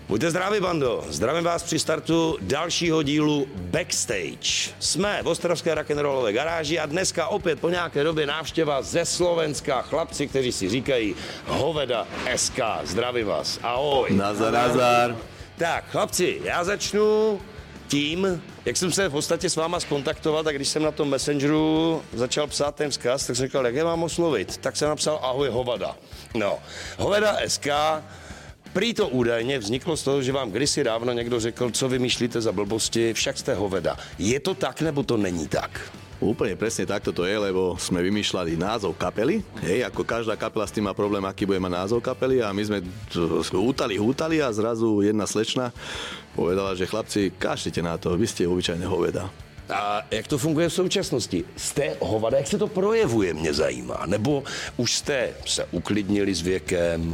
Buďte zdraví, bando. Zdravím vás při startu dalšího dílu Backstage. Jsme v ostravské rock'n'rollové garáži a dneska opět po nějaké době návštěva ze Slovenska. Chlapci, kteří si říkají Hoveda SK. Zdravím vás. Ahoj. Nazar, nazar. Tak, chlapci, já začnu tím, jak jsem se v podstatě s váma skontaktoval, tak když jsem na tom Messengeru začal psát ten vzkaz, tak jsem říkal, jak je mám oslovit? Tak jsem napsal ahoj Hovada. No, Hoveda SK, prý to údajně vzniklo z toho, že vám kdysi dávno někdo řekl, co vymýšlíte za blbosti, však jste Hoveda. Je to tak, nebo to není tak? Úplne presne takto to je, lebo sme vymýšľali názov kapely. Hej, ako každá kapela s tým má problém, aký bude mať názov kapely a my sme hútali a zrazu jedna slečna povedala, že chlapci, kašlite na to, vy ste obyčajné Hoveda. A jak to funguje v současnosti? Jste Hovada, jak se to projevuje, mě zajímá. Nebo už jste se uklidnili s věkem?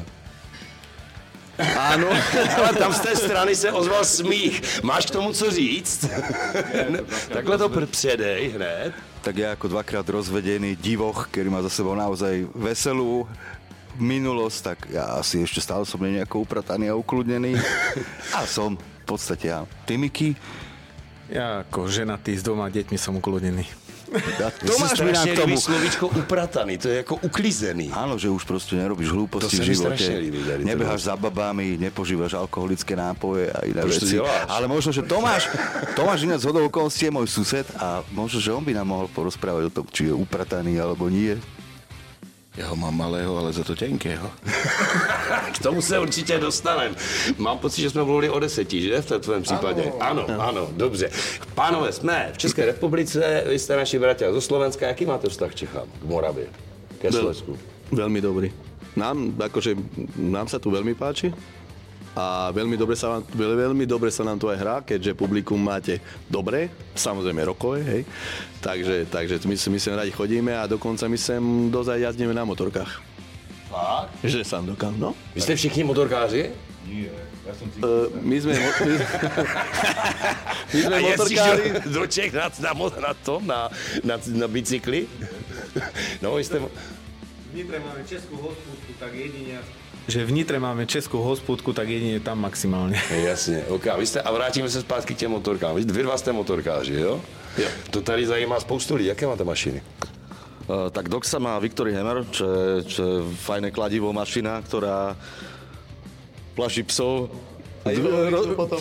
Áno. Ale tam z té strany se ozval smích. Máš k tomu co říct? Takhle to předej hned. Tak ja ako dvakrát rozvedený divoch, ktorý má za sebou naozaj veselú minulosť, tak ja asi ešte stále som nejako uprataný a ukludnený. A som v podstate ja. Ty, Miky? Ja ako ženatý s dvoma deťmi som ukľudnený. Ja, Tomáš mi k tomu slovíčko uprataný, to je jako uklizený. Áno, že už proste nerobíš hlúposti v živote. Nebeháš za babami, nepožívaš alkoholické nápoje a iné veci. Ale možno, že Tomáš ináč zhodou okolností je môj sused a možno, že on by nám mohol porozprávať o tom, či je uprataný alebo nie. Ja ho mám malého, ale za to tenkého. K tomu se určitě dostanem. Mám pocit, že jsme mluvili o 10, že? V tvém případě. Ano, dobře. Pánové, jsme v České republice, vy jste naši bratia zo Slovenska. Jaký máte vztah k Čechám, k Moravě, ke Slovensku? Veľmi dobrý. Nám sa tu veľmi páči a veľmi dobre sa nám tu aj hrá, keďže publikum máte dobré, samozrejme rokové, hej. Takže my sem radi chodíme a dokonca my sem dozaj jazdíme na motorkách. Fakt? Že sám dokám, no. Vy jste všichni motorkáři? Nie, ja som si... My sme motorkári. Do Čech na bicykli? No, vy jste... V Nitre máme českú hospúdku, tak jedine tam maximálne. Jasně, ok. A vrátíme se zpátky k těm motorkám. Vy dva jste motorkáři, jo? Jo. To tady zajímá spoustu lidí. Jaké máte mašiny? Tak Doxa má Victory Hammer, čo je fajné kladivo mašina, ktorá plaší psov. Potom.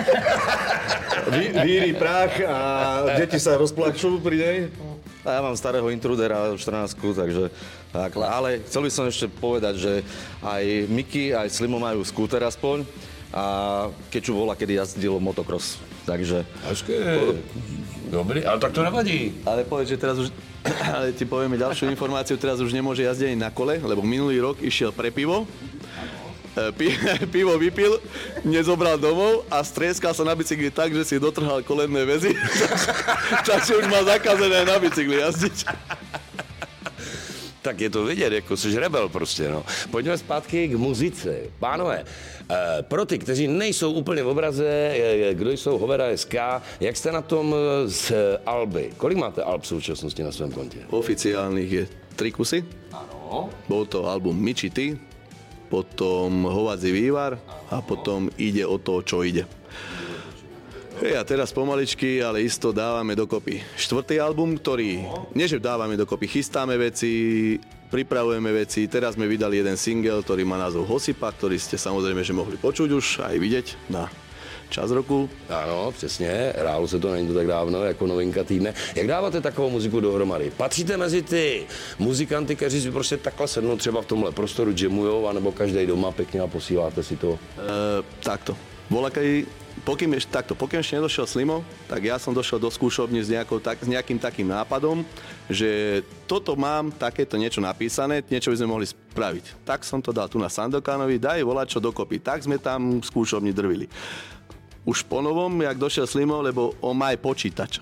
Víri prach a deti sa rozplačú pri nej. A ja mám starého Intrudera 14, takže tak. Ale chcel by som ešte povedať, že aj Miky, aj Slimo majú skúter aspoň a Keču volá, kedy jazdil motocross, takže... Dobrý, ale tak to nevadí. Ale povedz, že teraz už... Ale ti povieme ďalšiu informáciu, teraz už nemôže jazdiť ani na kole, lebo minulý rok išiel pre pivo. Pivo vypil, nezobral domov a strieskal sa na bicykli tak, že si dotrhal kolenné väzy. Takže už má zakázané na bicykli jazdiť. Tak je to vidět, jako jsi rebel prostě, no. Pojďme zpátky k muzice. Pánové, pro ty, kteří nejsou úplně v obraze, kdo jsou Hoveda SK, jak jste na tom s alby? Kolik máte alb v současnosti na svém kontě? Oficiálnych je 3 kusy. Ano. Bol to album Miči Ty, potom Hovadzí vývar a potom Ide o to, čo ide. Hej, a teraz pomaličky, ale isto dávame dokopy 4. album, ktorý, nie že dávame dokopy, chystáme veci, pripravujeme veci. Teraz sme vydali jeden single, ktorý má názov Hosipa, ktorý ste samozrejme, že mohli počuť už aj vidieť na Čas roku. Ano, přesně, hrálo se to, není to tak dávno, jako novinka týdne. Jak dáváte takovou muziku dohromady? Patříte mezi ty muzikanty, kteří si prostě takhle sednou třeba v tomhle prostoru, jamujou, anebo každý doma pěkně a posíláte si to? Takto. Pokým ešte nedošiel Slimo, tak ja som došiel do skúšobne s nejakým takým nápadom, že toto mám, takéto niečo napísané, niečo by sme mohli spraviť. Tak som to dal tu na Sandokánovi, daj volať čo dokopy. Tak sme tam v skúšobni drvili. Už po novom, jak došiel Slimo, lebo on má aj počítač.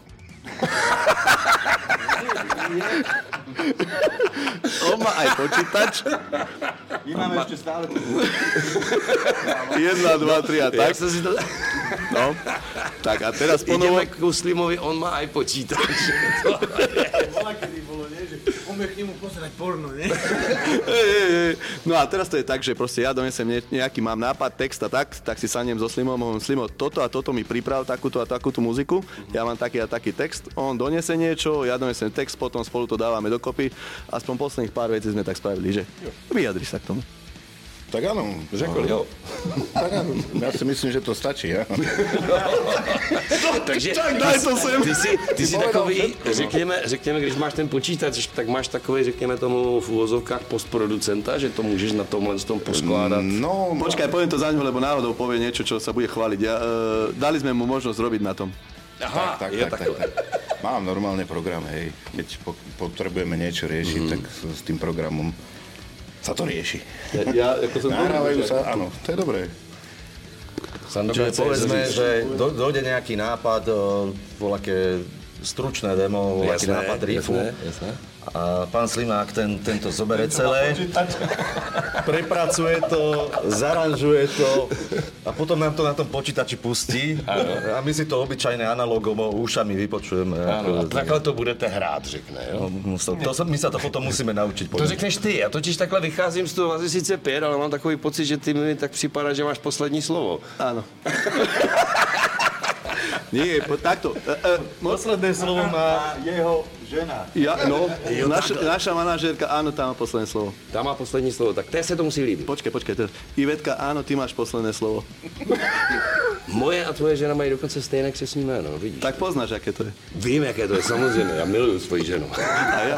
On má aj počítač. My máme ešte stále... 1, 2, 3 a tak. Jak sa si to... No, tak a teraz po novom... Ideme k Slimovi, on má aj počítač. Bola, kedy bolo, nie? Že on mi Poďme k nemu pozerať porno, ne? No a teraz to je tak, že proste ja donesem nejaký, mám nápad, text a tak si sadnem so Slimom, hovorím, Slimo, toto a toto mi priprav, takúto a takúto muziku, ja mám taký a taký text, on donese niečo, ja donesem text, potom spolu to dávame dokopy, aspoň posledných pár vecí sme tak spravili, že vyjadri sa k tomu. Tak áno, Řekl jo. tak áno, ja si myslím, že to stačí, ja? Takže daj to sem. Ty si takový, řekněme, když máš ten počítač, tak máš takový, řekněme tomu v uvozovkách postproducenta, že to můžeš na tomhle tom poskládat. No, Počkaj, poviem to za ňo, lebo náhodou povie niečo, čo sa bude chváliť. Dali sme mu možnosť robiť na tom. Aha, tak. Mám normálne program, hej. Keď potrebujeme niečo riešiť, tak s tým programom sa to rieši. Nahrávajú sa, áno, to je dobré. Čiže povedzme, že dojde nejaký nápad, voľaké stručné demo, voľaký nápad riffu. A pán Slimák tento zobere celé, prepracuje to, zaranžuje to a potom nám to na tom počítači pustí a my si to obyčajné analogovo ušami vypočujeme. Ano, a takhle to budete hrát, řekne, jo? My sa to potom musíme naučiť. To řekneš ty, já totiž takhle vycházím z toho asi sice 5, ale mám takový pocit, že ty mi tak připadá, že máš poslední slovo. Áno. Nie, takto. Posledné slovo má jeho žena. Naša manažérka, áno, tá má posledné slovo. Tá má poslední slovo, tak té se to musí líbit. Počkej. Ivetka, áno, ty máš posledné slovo. Moje a tvoje žena mají dokonce stejné křestní jméno, vidíš? Tak poznáš, aké to je. Vím, jaké to je, samozřejmě, já miluju svoji ženu. A ja?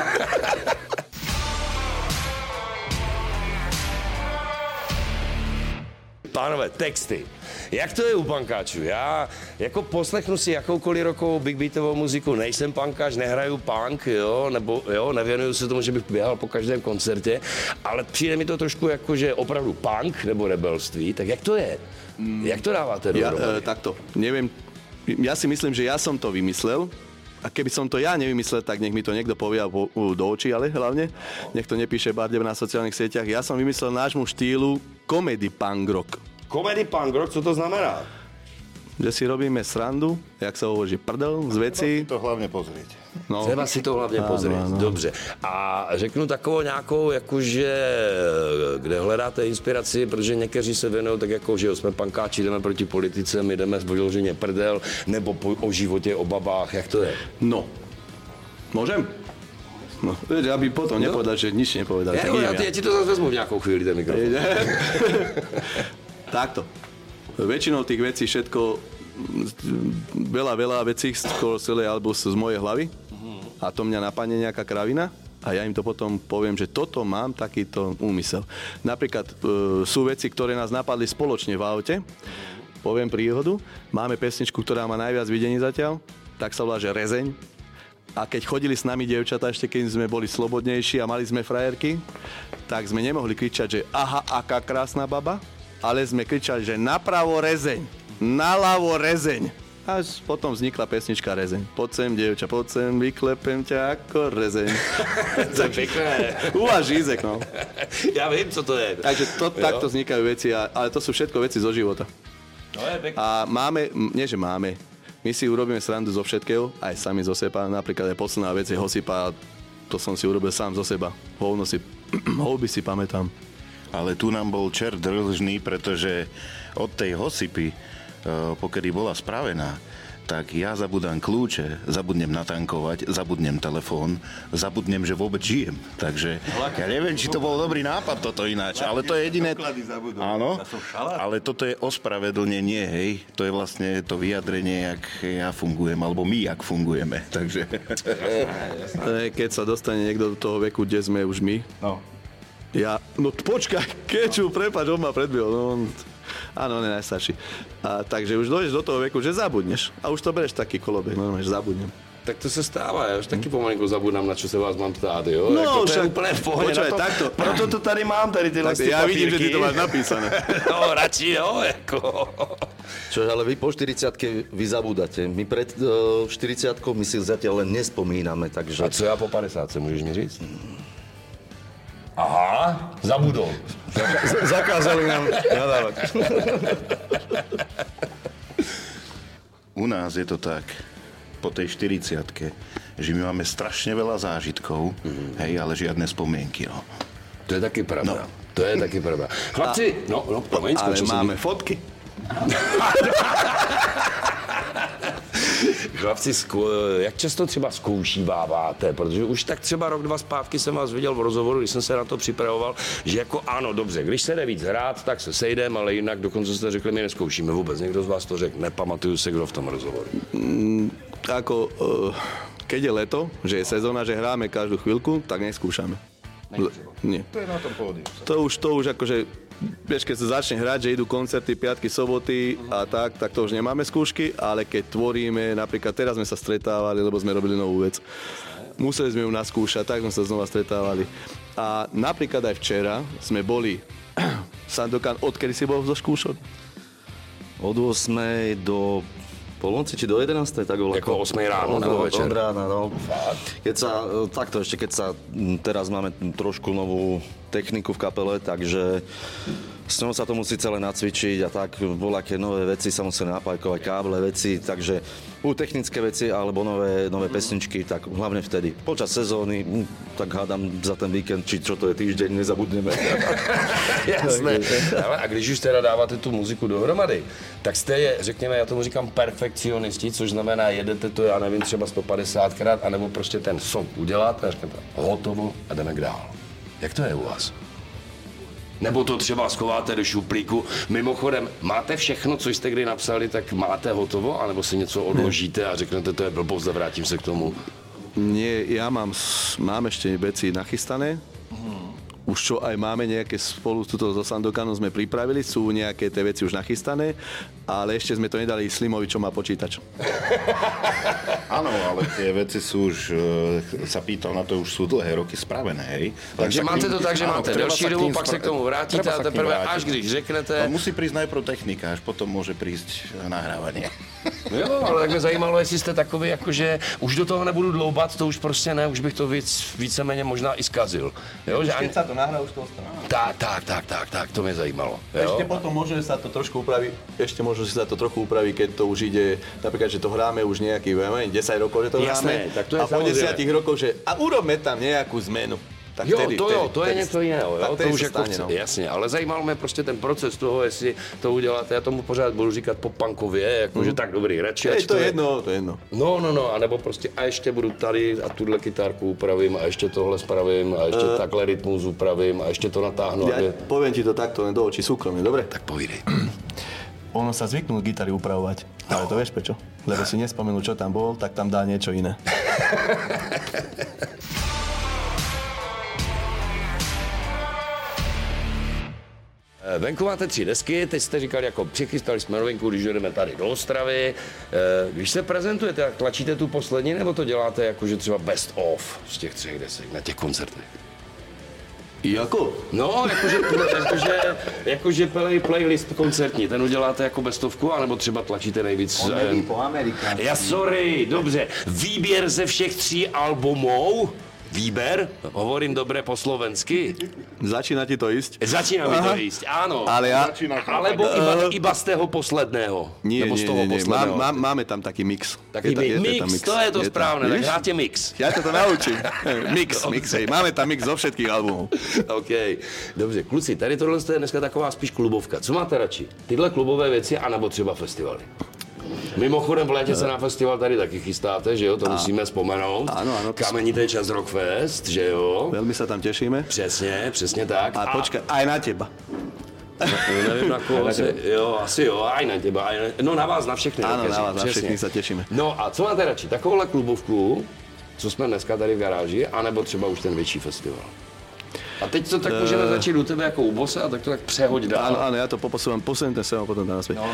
Pánové, texty. Jak to je u punkáčů? Já jako poslechnu si jakoukoliv rokovou big beatovou muziku, nejsem punkáč, nehraju punk, nevěnuju se tomu, že bych běhal po každém koncertě, ale přijde mi to trošku jako, že opravdu punk nebo rebelství, tak jak to je? Jak to dáváte dohromady? Takto, neviem, ja si myslím, že ja som to vymyslel, a keby som to ja nevymyslel, tak nech mi to niekto povie do očí, ale hlavne, nech to nepíše Bardeb na sociálnych sieťach. Ja som vymyslel nášmu štýlu comedy punk rock. Comedy punk rock, co to znamená? Že si robíme srandu, jak sa hovorí, prdel z vecí. To hlavne pozrieť. No. Třeba si to hlavně pozrieť. Ano. Dobře. A řeknu takovou nějakou, jakože, kde hledáte inspiraci, protože někteří se věnují tak jako, že jsme pankáči, jdeme proti politice, my jdeme vyloženě prdel, nebo o životě, o babách, jak to je? No. Môžem? No, aby potom nepovedal, že nič nepovedal. Ja ti to zase vezmu v nejakou chvíli, ten mikrofón. Takto. Väčšinou tých vecí všetko, veľa vecí skoro celé album z mojej hlavy a to mňa napadne nejaká kravina a ja im to potom poviem, že toto mám takýto úmysel. Napríklad sú veci, ktoré nás napadli spoločne v aute. Poviem príhodu. Máme pesničku, ktorá má najviac videní zatiaľ, tak sa volá, že Rezeň. A keď chodili s nami dievčatá, ešte keď sme boli slobodnejší a mali sme frajerky, tak sme nemohli kričať, že aha, aká krásna baba, ale sme kričali, že napravo rezeň, naľavo rezeň. Až potom vznikla pesnička Rezeň. Poď sem, dievča, poď sem, vyklepem ťa ako rezeň. To je pekné. Uváž Ízek, no. Ja viem, co to je. Takže takto vznikajú veci, ale to sú všetko veci zo života. To je pekné. A my si urobíme srandu zo všetkého, aj sami zo seba. Napríklad aj posledná vec je hosypa, to som si urobil sám zo seba. Houby si pamätám. Ale tu nám bol čert dlžný, pretože od tej hosypy, pokedy bola spravená, tak ja zabudám kľúče, zabudnem natankovať, zabudnem telefón, zabudnem, že vôbec žijem. Takže ja neviem, či to bol dobrý nápad toto ináč, ale to je jediné. Áno, ale toto je ospravedlnenie, hej. To je vlastne to vyjadrenie, jak ja fungujem, alebo my, jak fungujeme. Takže... Keď sa dostane niekto do toho veku, kde sme už my, no počkaj, Keču, prepáč, on ma predbihol, no áno, on je najstarší. Takže už dojdeš do toho veku, že zabudneš. A už to bereš taký kolobek, normálne, že zabudnem. Tak to se stává, já už taky pomalinku zabudám, na čo se vás mám ptát, jo? No, jako však, to je úplne v pohodě. Počúvaj, takto. Proto to tady mám, tady tyhle papírky. Ja vidím, že ty to máš napísané. No, radši jo, jako. Čo, ale vy po 40-ke vy zabúdate. My pred 40-kou my si zatiaľ len nespomíname, takže... A co já po 50, můžeš mi říct? Aha, zabudol. Zakázali nám nadávať. U nás je to tak, po tej 40-ke, že my máme strašne veľa zážitkov, hej, ale žiadne spomienky, no. To je taky pravda. To je taky pravda. Chlapci, promiň, ale máme fotky. Chlapci, jak často třeba zkoušíváváte? Protože už tak třeba rok, 2 zpátky jsem vás viděl v rozhovoru, když jsem se na to připravoval, že jako ano, dobře, když se jde víc hrát, tak se sejdeme, ale jinak dokonce jste řekli, my nezkoušíme vůbec. Někdo z vás to řekl, nepamatuju se, kdo v tom rozhovoru. Keď je leto, že je sezóna, že hráme každú chvíľku, tak neskúšame. Nie. To je na tom pódiu. To už akože, vieš, keď sa začne hrať, že idú koncerty, piatky, soboty a tak to už nemáme skúšky, ale keď tvoríme, napríklad teraz sme sa stretávali, lebo sme robili novú vec. Museli sme ju naskúšať, tak sme sa znova stretávali. A napríklad aj včera sme boli Sandokan, odkedy si bol zo skúšok? Od 8 do polnoci, či do 11. tak bolo. Jako 8 ráno nebo večer? Od rána, no. Keď sa teraz máme trošku novú techniku v kapele, takže s ňou sa to musí celé nacvičiť a tak, voľaké nové veci sa musí napajkovať, káble, veci, takže technické veci alebo nové pesničky, tak hlavne vtedy. Počas sezóny, tak hádam za ten víkend, či čo to je týždeň, nezabudneme. Jasné. Ale a když už teda dáváte tu muziku dohromady, tak jste, řekněme, já tomu říkám perfekcionisti, což znamená, jedete to, já nevím, třeba 150krát, anebo prostě ten song uděláte a řeknete, hotovo a jdeme dál. Jak to je u vás? Nebo to třeba schováte do šuplíku. Mimochodem, máte všechno, co jste kdy napsali, tak máte hotovo? Anebo si něco odložíte a řeknete, to je blbost a vrátím se k tomu? Nie, ja mám ešte veci nachystané. Už čo aj máme nejaké spolu so Sandokanom sme pripravili, sú nejaké tie veci už nachystané, ale ešte sme to nedali Slimovi, čo má počítač. Áno, ale tie veci sú už, sa pýtal na to, už sú dlhé roky spravené, hej. Takže máte to tak, že máte delší dobu, pak se k tomu vrátíte a teprve až když řeknete... Musí prísť najprv technika, až potom môže prísť nahrávanie. Jo, ale tak mě zajímalo, jestli jste takový, jakože už do toho nebudu dloubat, to už prostě ne, už bych to víceméně možná i zkazil. Jo, že keď sa to nahrá, už to ostane. Tak, to mě zajímalo. Jo? Ešte potom môže sa to trošku upraviť, keď to už ide, napríklad, že to hráme už nejaký, 10 rokov, že to hráme. Tak to je a po 10 rokoch, že a urobme tam nejakú zmenu. Tak to je něco jiného, jo? To už jako stane, no. Jasně, ale zajímal mě prostě ten proces toho, jestli to uděláte, já tomu pořád budu říkat pop-punkově, jakože tak dobrý, radši. To je jedno. No, anebo prostě a ještě budu tady a tuhle kytárku upravím a ještě tohle spravím a ještě takhle rytmus upravím a ještě to natáhnu. Ja poviem ti to takto len do očí súkromne, dobre? Tak povídej. Ono sa zvyknul gitary upravovať, ale to vieš prečo? Lebo si nespomenul, čo tam bol, tak tam dá niečo iné. Venku máte 3 desky, teď jste říkali, jako přichystali jsme novinku, když jdeme tady do Ostravy. Když se prezentujete, tak tlačíte tu poslední, nebo to děláte jakože třeba best of z těch 3 desek na těch koncertech? Jako? No, jakože playlist koncertní, ten uděláte jako bestovku, anebo třeba tlačíte nejvíc... Po Amerikánsky. Sorry, dobře. Výběr ze všech 3 albumů. Výber? Hovorím dobre po slovensky. Začína ti to ísť? Začína mi to ísť, áno. Ale Alebo iba z toho posledného. Nie, Nebo z toho posledného. Máme tam taký mix. Taký mix, to je to správne, tak hráte mix. Ja to naučím. Mix, hej. Máme tam mix zo všetkých albumov. OK, dobře. Kluci, tady tohle je dneska taková spíš klubovka. Co máte radši? Tyhle klubové věci, anebo třeba festivaly? Mimochodem v létě se na festival tady taky chystáte, že jo? To musíme vzpomenout. Áno. Kamenité čas Rockfest, že jo? Veľmi sa tam tešíme. Přesně tak. A počkaj, aj na teba. Nevím na koho jo, asi jo, aj na teba. No na vás, na všechny. Áno, na vás, na všechny sa tešíme. No a co máte radši? Takovouhle klubovku, co jsme dneska tady v garáži, anebo třeba už ten větší festival? A teď to tak můžeme začít u tebe jako u Bose a tak to tak přehoď dál. Áno, ja to poposúvam, posuniem ten sem a potom tam naspäť. No.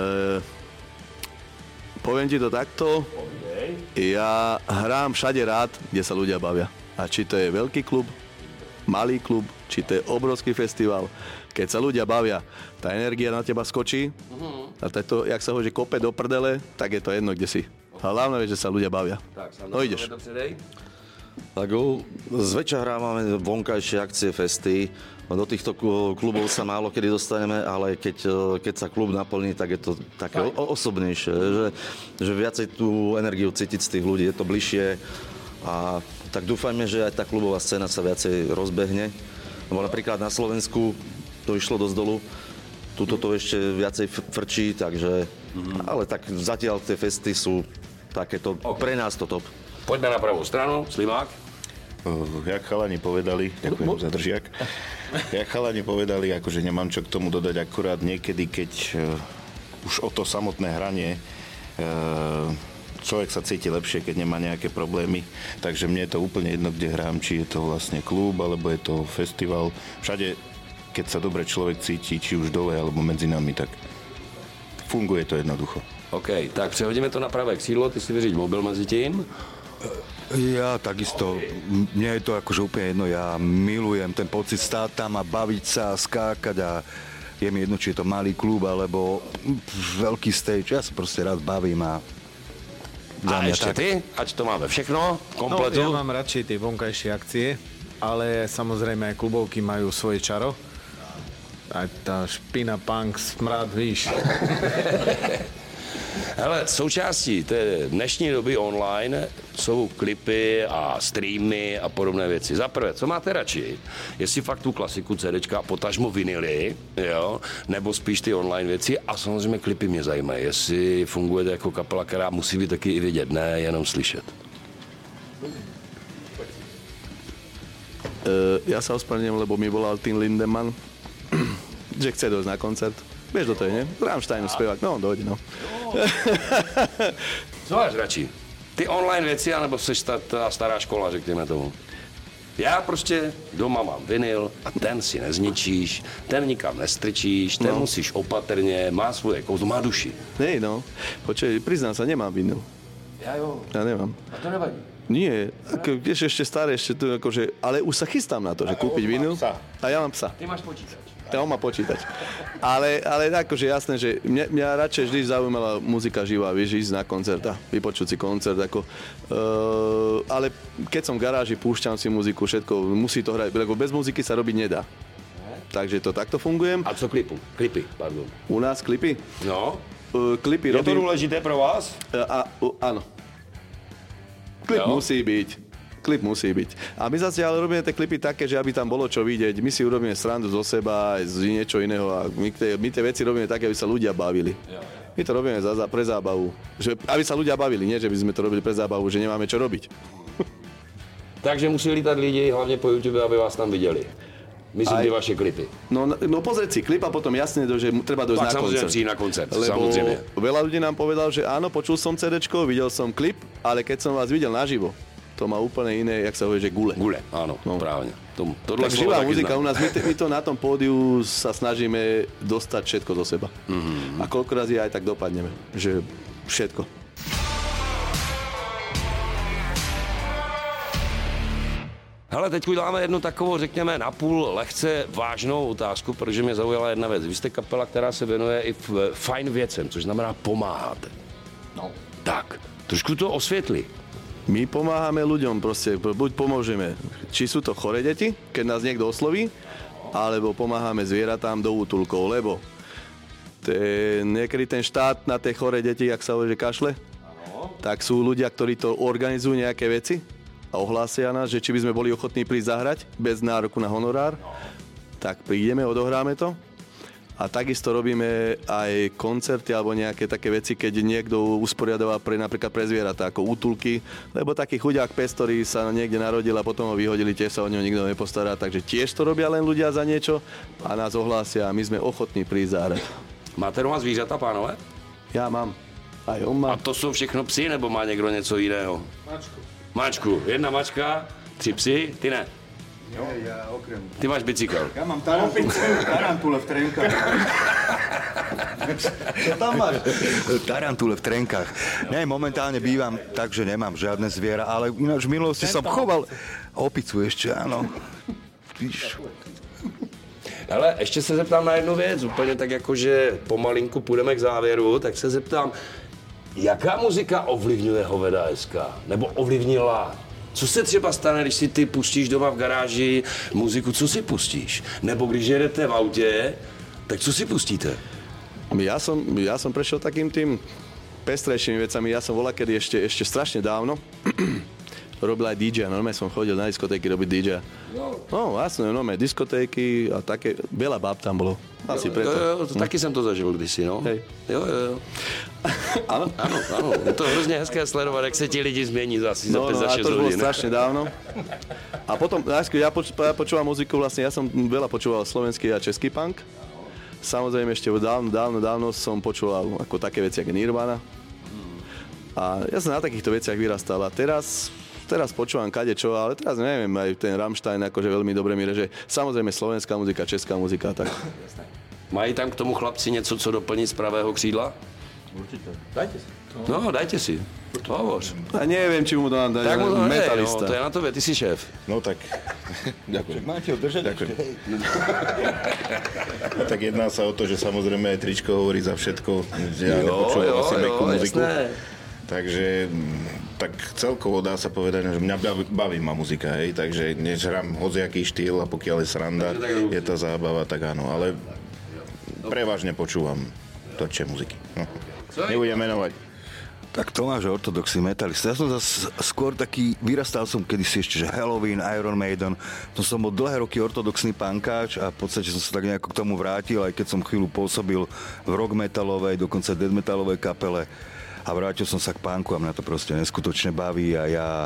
Poviem ti to takto, ja hrám všade rád, kde sa ľudia bavia. A či to je veľký klub, malý klub, či to je obrovský festival, keď sa ľudia bavia, tá energia na teba skočí a to, jak sa hovorí, kope do prdele, tak je to jedno, kde si. A hlavne je, že sa ľudia bavia. Tak, no ideš. Tak zväčša hrávame vonkajšie akcie, festy. Do týchto klubov sa málo kedy dostaneme, ale keď sa klub naplní, tak je to také osobnejšie, že viacej tú energiu cítiť z tých ľudí, je to bližšie a tak dúfajme, že aj tá klubová scéna sa viacej rozbehne. Lebo napríklad na Slovensku to išlo dosť dolu, tuto to ešte viacej frčí, takže ale tak zatiaľ tie festy sú takéto, pre nás to top. Poďme na pravú stranu, Slimák. Jak chalani povedali, ďakujem za držiak, jak chalani povedali, akože nemám čo k tomu dodať, akurát niekedy, keď už o to samotné hranie, človek sa cíti lepšie, keď nemá nejaké problémy, takže mne je to úplne jedno, kde hrám, či je to vlastne klub, alebo je to festival, všade, keď sa dobre človek cíti, či už dole, alebo medzi nami, tak funguje to jednoducho. OK, tak přehodíme to na pravé křídlo, ty si vyřiď mobil mezi tím. Ja takisto, mne je to akože úplne jedno, ja milujem ten pocit stáť tam a baviť sa, skákať a je mi jedno, či je to malý klub alebo veľký stage, ja sa proste rád bavím a ešte tak. Ty? Ať to máme všechno, kompletu? No, ja mám radšej tie vonkajšie akcie, ale samozrejme aj klubovky majú svoje čaro. Aj tá špina, punk, smrad, víš. Hele, součástí té dnešní doby online jsou klipy a streamy a podobné věci. Za prvé, co máte radši? Jestli fakt tu klasiku CDčka, potažmo vinily, jo? Nebo spíš ty online věci a samozřejmě klipy mě zajímají. Jestli fungujete jako kapela, která musí být taky i vidět, ne jenom slyšet. Ja sa ospravedlňujem, lebo mi volal Tim Lindemann, že chce dojsť na koncert. Vieš, to je, nie? Rammsteinu zpěvák, no on dojde, no. Co máš radši? Ty online věci, anebo jsi ta stará škola, řekněme tomu? Já prostě doma mám vinyl a ten si nezničíš, ten nikam nestrčíš, ten musíš opatrně, má svoje kouzlo, má duši. Nej, no. Počkej, priznám sa, nemám vinyl. Ja nemám. A to nevadí. Nie, ešte staré, ešte tu akože, ale už sa chystám na to, že kúpiť vinyl. A ja mám psa. Ty máš počítač. Ja on má počítač. Ale akože jasné, že mňa radšej vždy zaujímala muzika živá, vieš, ísť na koncert a vypočuť si koncert, ako, ale keď som v garáži, púšťam si muziku, všetko, musí to hrať, lebo bez muziky sa robiť nedá. Takže to takto fungujem. A co klipy, pardon. U nás klipy? No. Klipy robím. Je to důležité pro vás? Áno. Klip musí byť. A my zase ale robíme tie klipy také, že aby tam bolo čo vidieť. My si urobíme srandu zo seba, z niečo iného a my tie veci robíme také, aby sa ľudia bavili. My to robíme pre zábavu. Že, aby sa ľudia bavili, nie že by sme to robili pre zábavu, že nemáme čo robiť. Takže musí lítať lidi, hlavne po YouTube, aby vás tam videli. Myslím, tie vaše klipy. No pozrieť si klip a potom jasne, že treba dojsť na koncert. Lebo veľa ľudí nám povedal, že áno, počul som CDčko, videl som klip, ale keď som vás videl naživo, to má úplne iné, jak sa hovorí, že gule. Gule, áno, právne. Tak živá muzika u nás, my to na tom pódiu sa snažíme dostať všetko do seba. Mm-hmm. A koľko razy aj tak dopadneme, že všetko. Hele, teď uděláme jednu takovou, řekněme, napůl lehce vážnou otázku, protože mě zaujala jedna věc. Vy jste kapela, která se věnuje i fajn věcem, což znamená pomáháte. No. Tak, trošku to osvětli. My pomáhame ľuďom, proste, buď pomôžeme, či sú to choré deti, keď nás niekto osloví, alebo pomáhame zvieratám do útulkov, lebo niekedy ten štát na tie choré deti, jak sa hovorí, že kašle, tak sú ľudia, ktorí to organizujú nejaké veci a ohlásia nás, že či by sme boli ochotní prísť zahrať bez nároku na honorár, tak prídeme, odohráme to. A takisto robíme aj koncerty alebo nejaké také veci, keď niekto usporiadoval napríklad pre zvieratá, ako útulky, lebo taký chudák pes, ktorý sa niekde narodil a potom ho vyhodili, tiež sa o neho nikto nepostará, takže tiež to robia len ľudia za niečo a nás ohlásia a my sme ochotní prísť zahrať. Máte doma zvířata, pánové? Ja mám. Aj on má. A to sú všechno psi, nebo má niekto něco iného? Mačku. Jedna mačka, 3 psy, ty ne? Jo, ja okrem. Ty máš bicykel. Ja mám tarantule v trenkách. Čo tam máš? Tarantule v trenkách. Ne, momentálne bývam tak, že nemám žiadne zviera, ale ináč v minulosti som choval opicu ešte, áno. Víš. Hele, ještě se zeptám na jednu věc, úplně tak jako, že pomalinku půjdeme k závěru, tak se zeptám, jaká muzika ovlivňuje Hoveda SK? Nebo ovlivnila? Co se třeba stane, když si ty pustíš doma v garáži muziku, co si pustíš? Nebo když jedete v autě, tak co si pustíte? Ja som prešiel takým tým pestrejšími vecami. Ja som volakedy ešte strašne dávno robil aj DJ, normálne som chodil na diskotéky robiť DJ. No, jasné, normálne diskotéky a také, veľa báb tam bolo. Asi preto. Jo, taky jsem to zažil kdysi, no. Hej. Jo. Áno? Áno. Je to hrozně hezké sledovat, jak se ti lidi změní asi za 5-6 hodín. A to bolo strašne dávno. A potom, ja počúvam muziku, vlastne ja som veľa počúval slovenský a český punk. Samozrejme ešte dávno som počúval ako také veci, ako Nirvana. A ja som na takýchto veciach vyrastal a teraz počúvam kadečo, ale teraz neviem, aj ten Rammstein akože veľmi dobre mi reže. Samozrejme slovenská muzika, česká muzika, tak. Mají tam k tomu chlapci něco, co doplnit z pravého křídla? Určite. Dajte si. No, dajte si. Hovoř. A neviem, či mu to nám dajú. Tak mu to Metalista. to je na tobě, ty si šéf. No tak, ďakujem. Máte ho držať? Ďakujem. Tak jedná sa o to, že samozrejme aj tričko hovorí za všetko. Ja nepočúvam asi mekú muziku. Jasné. Takže tak celkovo dá sa povedať, že mňa baví ma muzika, hej, takže nežrám hociaký štýl a pokiaľ je sranda, je to zábava, tak áno, ale prevažne počúvam točie muziky. Nebudem menovať. Tak Tomáš je ortodoxný metalista. Ja som zase skôr taký, vyrastal som kedysi ešte, že Halloween, Iron Maiden. To som bol dlhé roky ortodoxný punkáč a v podstate som sa tak nejako k tomu vrátil, aj keď som chvíľu pôsobil v rock metalovej, dokonca death metalovej kapele. A vrátil som sa k punku a mňa to proste neskutočne baví a ja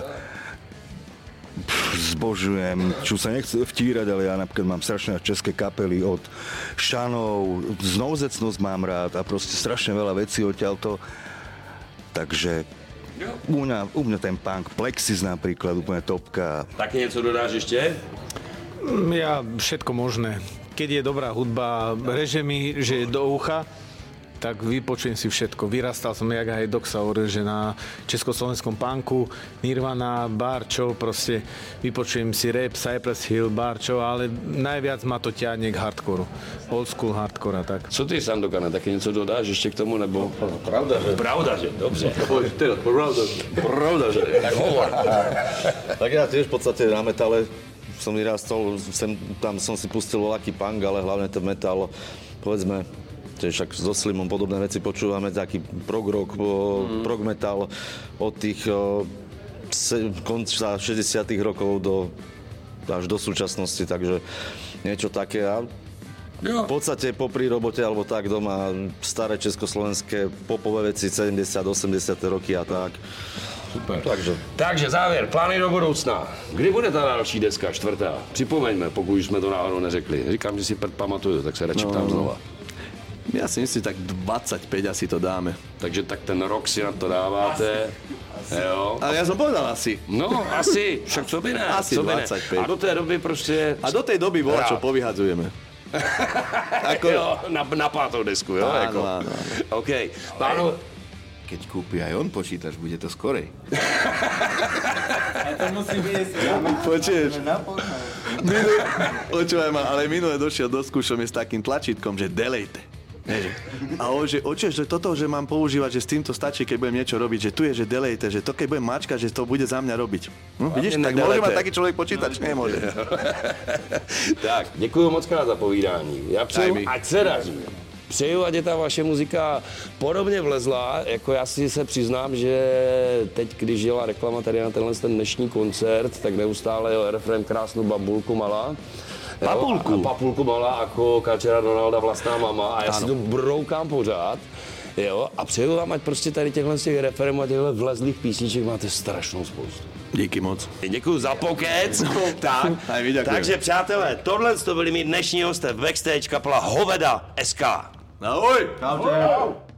zbožujem, čo sa nechce vtírať, ale ja napríklad mám strašne české kapely od Šanov, Znouzecnosť mám rád a proste strašne veľa vecí odtiaľto. Takže u mňa ten punk, Plexis napríklad, úplne topka. Taky něco dodáš ještě? Ja všetko možné. Keď je dobrá hudba, reže mi, že je do ucha, tak vypočujem si všetko. Vyrastal som, jak aj Doc Sauer, že na československom punku, Nirvana, Barčo, proste vypočujem si rap, Cypress Hill, Barčo, ale najviac ma to ťahne k hardcoreu. Old school hardcore a tak. Co ty, Sandokane, taky něco dodáš ještě k tomu, nebo? Pravda, že? Dobře. Pravda, že? Tak hovor. Tak ja tiež v podstate na metale som vyrastol, tam som si pustil voľaký punk, ale hlavne ten metal, povedzme, tiež však so Slimom podobné veci počúvame, taký prog rock, prog metal od tých konca 60 rokov až do súčasnosti, takže niečo také. A v podstate popri robote alebo tak doma staré československé popové veci 70, 80 roky a tak. Super. Takže závěr, plány do budoucna. Kdy bude ta další deska, 4. Připomeňme, pokud už jsme to náhodou neřekli. Říkám, že si pamatuju, tak se radši ptám znova. Ja si myslím, tak 25 asi to dáme. Takže tak ten rok si na to dáváte. Jo. Ale ja som povedal asi. No, asi, však co by ne. Asi co by 25. Ne. A do té doby prostě... A do tej doby bola, čo povyhadzujeme. Jo, na 5. desku, jo? Áno, jako. áno. OK. Pánu... Keď kúpi aj on počítač, bude to skorej. To musí viesť. Počuješ? Počúvaj ma, ale minule došiel do skúšom s takým tlačítkom, že delete. A on, že oče, že toto, že mám používať, že s týmto stačí, keď budem niečo robiť, že tu je, že delete, že to keď budem mačkať, že to bude za mňa robiť. No, vidíš, tak môže mať taký človek počítač? Nemôže. Tak, děkuju moc krát za povídání. Já přeju, ať se daří. Přeju, ať je ta vaše muzika podobně vlezla, jako já si se přiznám, že teď, když jela reklama tady na tenhle ten dnešní koncert, tak neustále jel refrén Krásnou babulku malá. Papulku malá, jako Kačera Donalda vlastná mama a já si to broukám pořád. Jo, a přeju vám, ať prostě tady těchhle z těch referemů a těchto vlezlých písniček máte strašnou spoustu. Díky moc. Děkuju za pokec. Tak, takže přátelé, tohle to byli mý dnešní hosté v Backstage kapela Hoveda SK. Ahoj! Čaute.